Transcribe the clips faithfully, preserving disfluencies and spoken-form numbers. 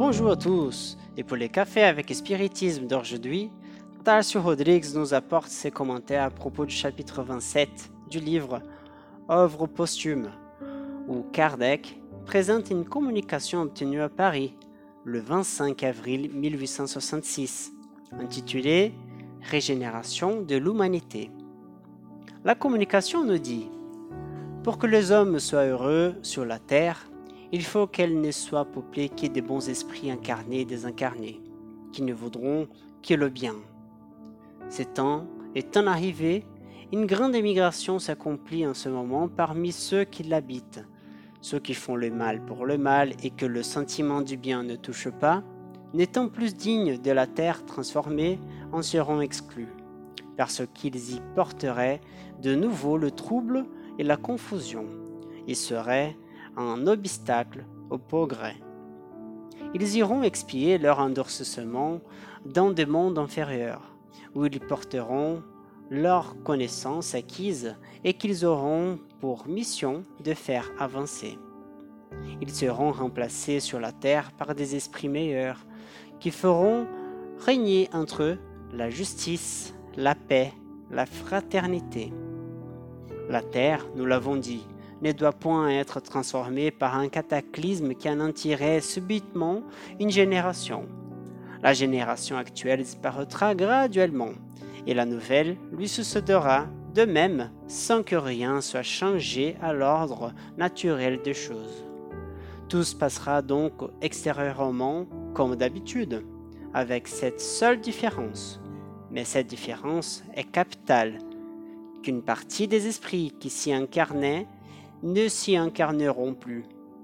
Bonjour à tous, et pour les cafés avec spiritisme d'aujourd'hui, Tarcio Rodrigues nous apporte ses commentaires à propos du chapitre vingt-sept du livre Œuvre posthume, où Kardec présente une communication obtenue à Paris le vingt-cinq avril mille huit cent soixante-six, intitulée Régénération de l'humanité. La communication nous dit: pour que les hommes soient heureux sur la terre, il faut qu'elle ne soit peuplée que des bons esprits incarnés et désincarnés, qui ne voudront que le bien. Ces temps étant arrivés, une grande émigration s'accomplit en ce moment parmi ceux qui l'habitent. Ceux qui font le mal pour le mal et que le sentiment du bien ne touche pas, n'étant plus dignes de la terre transformée, en seront exclus, parce qu'ils y porteraient de nouveau le trouble et la confusion. Ils seraient un obstacle au progrès. Ils iront expier leur endurcissement dans des mondes inférieurs, où ils porteront leurs connaissances acquises et qu'ils auront pour mission de faire avancer. Ils seront remplacés sur la terre par des esprits meilleurs, qui feront régner entre eux la justice, la paix, la fraternité. La terre, nous l'avons dit, ne doit point être transformée par un cataclysme qui anéantirait subitement une génération. La génération actuelle disparaîtra graduellement, et la nouvelle lui succédera de même sans que rien soit changé à l'ordre naturel des choses. Tout se passera donc extérieurement comme d'habitude, avec cette seule différence. Mais cette différence est capitale, qu'une partie des esprits qui s'y incarnaient ne s'y incarneront plus.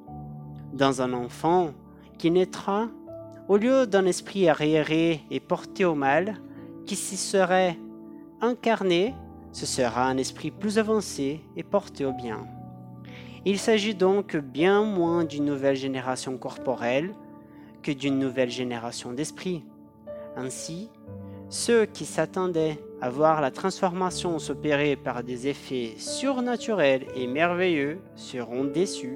Dans un enfant qui naîtra, au lieu d'un esprit arriéré et porté au mal, qui s'y serait incarné, ce sera un esprit plus avancé et porté au bien. Il s'agit donc bien moins d'une nouvelle génération corporelle que d'une nouvelle génération d'esprit. Ainsi, ceux qui s'attendaient à voir la transformation s'opérer par des effets surnaturels et merveilleux seront déçus.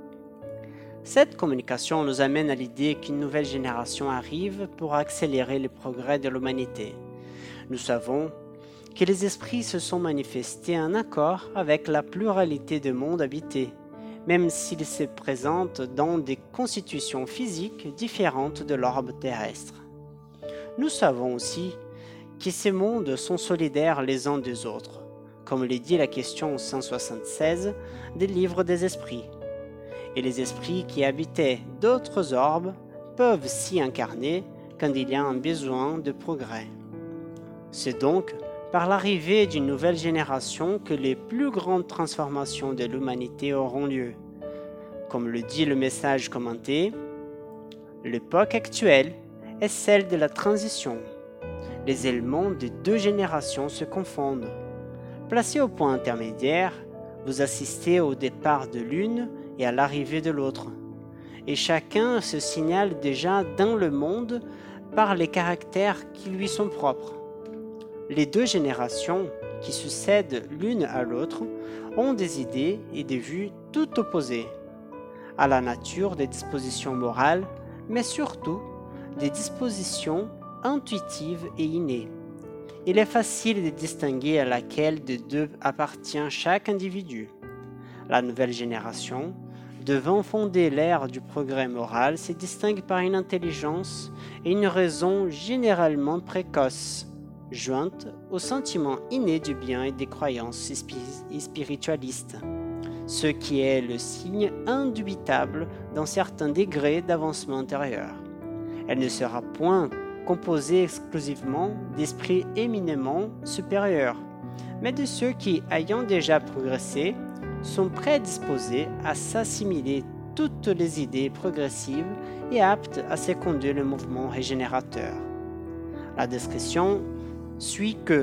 Cette communication nous amène à l'idée qu'une nouvelle génération arrive pour accélérer le progrès de l'humanité. Nous savons que les esprits se sont manifestés en accord avec la pluralité des mondes habités, même s'ils se présentent dans des constitutions physiques différentes de l'orbe terrestre. Nous savons aussi que ces mondes sont solidaires les uns des autres, comme le dit la question cent soixante-seize des livres des esprits. Et les esprits qui habitaient d'autres orbes peuvent s'y incarner quand il y a un besoin de progrès. C'est donc par l'arrivée d'une nouvelle génération que les plus grandes transformations de l'humanité auront lieu. Comme le dit le message commenté, l'époque actuelle est celle de la transition. Les éléments de deux générations se confondent. Placé au point intermédiaire, vous assistez au départ de l'une et à l'arrivée de l'autre. Et chacun se signale déjà dans le monde par les caractères qui lui sont propres. Les deux générations, qui succèdent l'une à l'autre, ont des idées et des vues tout opposées, à la nature des dispositions morales, mais surtout des dispositions intuitives et innées. Il est facile de distinguer à laquelle des deux appartient chaque individu. La nouvelle génération, devant fonder l'ère du progrès moral, se distingue par une intelligence et une raison généralement précoces, jointes au sentiment inné du bien et des croyances spiritualistes, ce qui est le signe indubitable d'un certain degré d'avancement intérieur. Elle ne sera point composée exclusivement d'esprits éminemment supérieurs, mais de ceux qui, ayant déjà progressé, sont prédisposés à s'assimiler toutes les idées progressives et aptes à seconder le mouvement régénérateur. La description suit que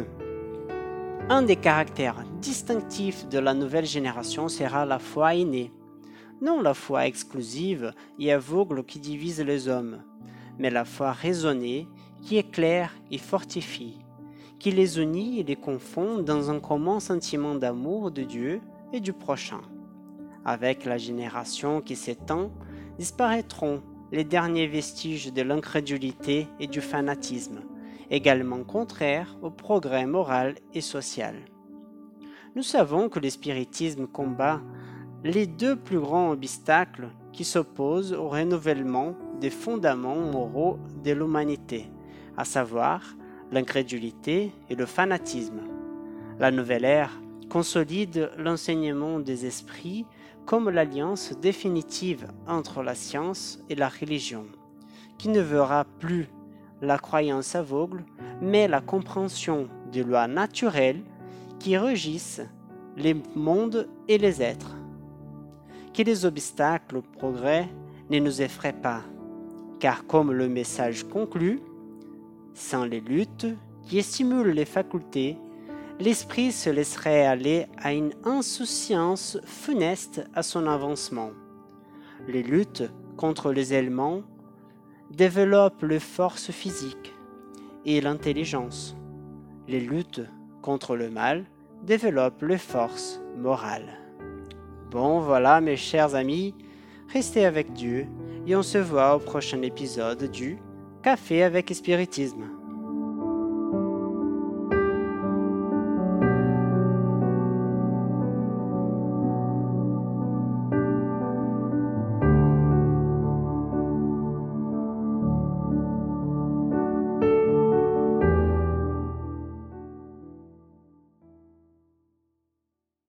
un des caractères distinctifs de la nouvelle génération sera la foi innée, non la foi exclusive et aveugle qui divise les hommes, mais la foi raisonnée qui éclaire et fortifie, qui les unit et les confond dans un commun sentiment d'amour de Dieu et du prochain. Avec la génération qui s'étend, disparaîtront les derniers vestiges de l'incrédulité et du fanatisme, également contraires au progrès moral et social. Nous savons que le spiritisme combat les deux plus grands obstacles qui s'opposent au renouvellement des fondements moraux de l'humanité, à savoir l'incrédulité et le fanatisme. La nouvelle ère consolide l'enseignement des esprits comme l'alliance définitive entre la science et la religion, qui ne verra plus la croyance aveugle, mais la compréhension des lois naturelles qui régissent les mondes et les êtres. Que les obstacles au progrès ne nous effraient pas, car comme le message conclut, sans les luttes qui stimulent les facultés, l'esprit se laisserait aller à une insouciance funeste à son avancement. Les luttes contre les éléments développent les forces physiques et l'intelligence. Les luttes contre le mal développent les forces morales. Bon, voilà mes chers amis, restez avec Dieu et on se voit au prochain épisode du Café avec Spiritisme.